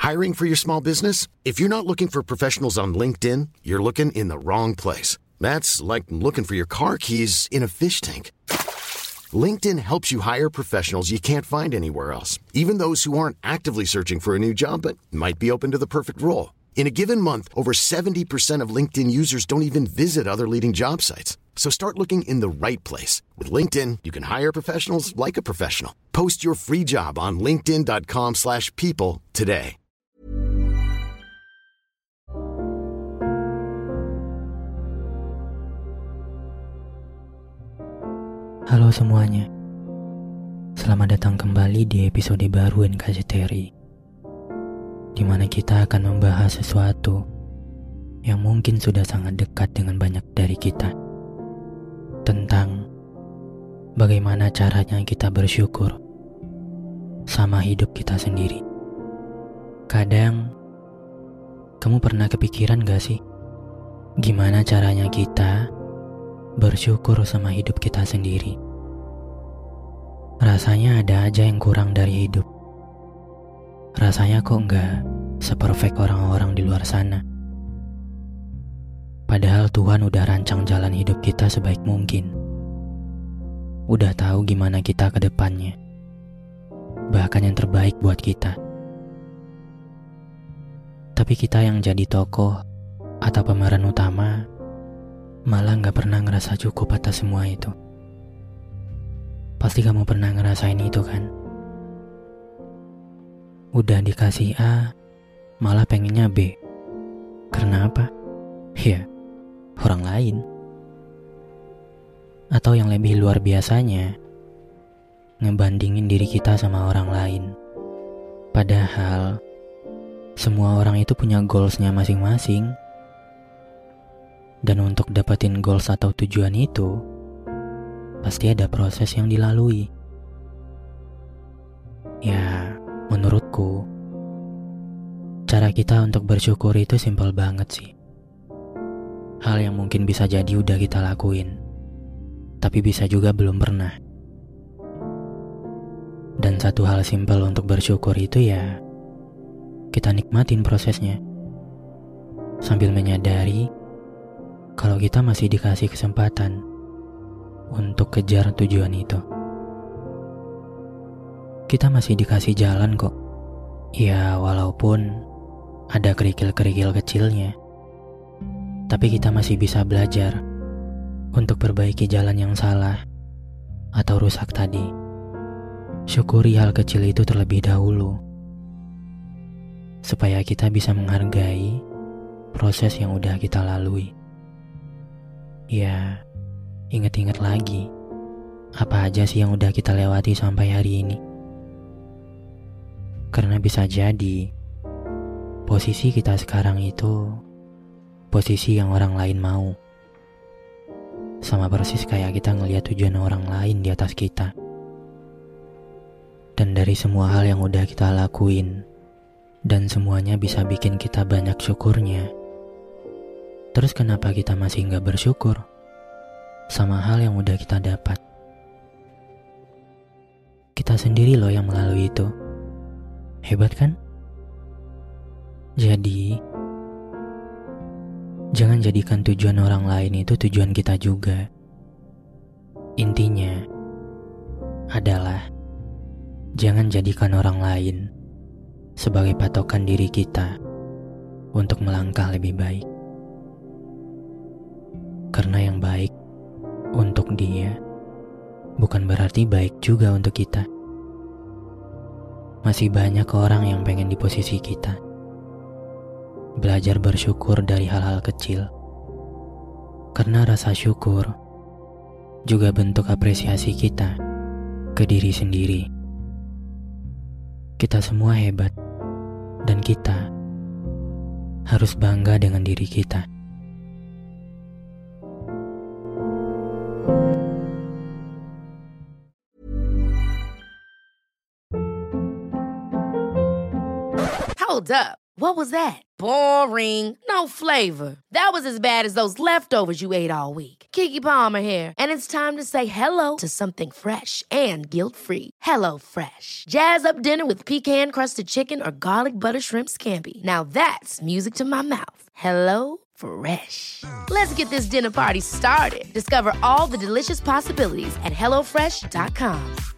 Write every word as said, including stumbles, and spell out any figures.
Hiring for your small business? If you're not looking for professionals on LinkedIn, you're looking in the wrong place. That's like looking for your car keys in a fish tank. LinkedIn helps you hire professionals you can't find anywhere else, even those who aren't actively searching for a new job but might be open to the perfect role. In a given month, over seventy percent of LinkedIn users don't even visit other leading job sites. So start looking in the right place. With LinkedIn, you can hire professionals like a professional. Post your free job on linkedin.com slash people today. Halo semuanya, selamat datang kembali di episode baru N K C T R I, di mana kita akan membahas sesuatu yang mungkin sudah sangat dekat dengan banyak dari kita, tentang bagaimana caranya kita bersyukur sama hidup kita sendiri. Kadang, kamu pernah kepikiran gak sih, gimana caranya kita bersyukur sama hidup kita sendiri? Rasanya ada aja yang kurang dari hidup. Rasanya kok nggak seperfect orang-orang di luar sana. Padahal Tuhan udah rancang jalan hidup kita sebaik mungkin. Udah tahu gimana kita ke depannya. Bahkan yang terbaik buat kita. Tapi kita yang jadi tokoh atau pemeran utama malah gak pernah ngerasa cukup atas semua itu. Pasti kamu pernah ngerasain itu kan? Udah dikasih A, malah pengennya B. Karena apa? Ya, orang lain. Atau yang lebih luar biasanya, ngebandingin diri kita sama orang lain. Padahal, semua orang itu punya goals-nya masing-masing. Dan untuk dapetin goals atau tujuan itu, pasti ada proses yang dilalui. Ya, menurutku, cara kita untuk bersyukur itu simpel banget sih. Hal yang mungkin bisa jadi udah kita lakuin, tapi bisa juga belum pernah. Dan satu hal simpel untuk bersyukur itu ya, kita nikmatin prosesnya, sambil menyadari kalau kita masih dikasih kesempatan untuk kejar tujuan itu. Kita masih dikasih jalan kok. Ya, walaupun ada kerikil-kerikil kecilnya, tapi kita masih bisa belajar untuk perbaiki jalan yang salah atau rusak tadi. Syukuri hal kecil itu terlebih dahulu, supaya kita bisa menghargai proses yang udah kita lalui. Ya, ingat-ingat lagi, apa aja sih yang udah kita lewati sampai hari ini. Karena bisa jadi, posisi kita sekarang itu posisi yang orang lain mau. Sama persis kayak kita ngelihat tujuan orang lain di atas kita. Dan dari semua hal yang udah kita lakuin, dan semuanya bisa bikin kita banyak syukurnya, terus kenapa kita masih gak bersyukur sama hal yang udah kita dapat? Kita sendiri loh yang melalui itu. Hebat kan? Jadi, jangan jadikan tujuan orang lain itu tujuan kita juga. Intinya adalah jangan jadikan orang lain sebagai patokan diri kita untuk melangkah lebih baik. Karena yang baik untuk dia bukan berarti baik juga untuk kita. Masih banyak orang yang pengen di posisi kita. Belajar bersyukur dari hal-hal kecil. Karena rasa syukur juga bentuk apresiasi kita ke diri sendiri. Kita semua hebat, dan kita harus bangga dengan diri kita. Hold up. What was that? Boring. No flavor. That was as bad as those leftovers you ate all week. Keke Palmer here, and it's time to say hello to something fresh and guilt-free. Hello Fresh. Jazz up dinner with pecan-crusted chicken or garlic butter shrimp scampi. Now that's music to my mouth. Hello Fresh. Let's get this dinner party started. Discover all the delicious possibilities at hello fresh dot com.